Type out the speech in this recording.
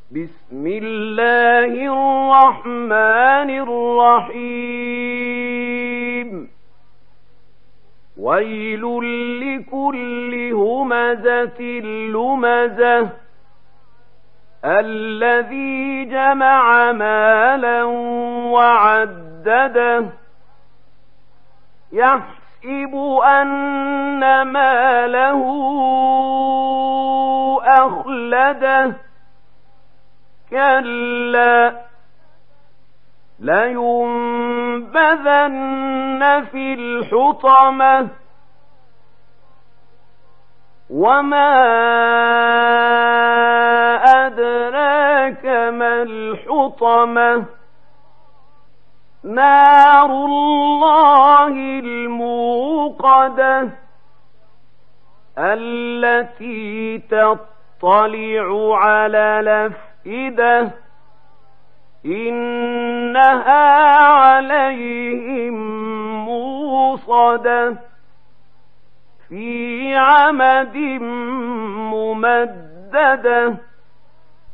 بسم الله الرحمن الرحيم ويل لكل همزة لمزة الذي جمع مالا وعدده يحسب أن ماله أخلده كلا لينبذن في الحطمة وما أدراك ما الحطمة نار الله الموقدة التي تطلع على الأفئدة إنها عليهم موصدة في عمد ممددة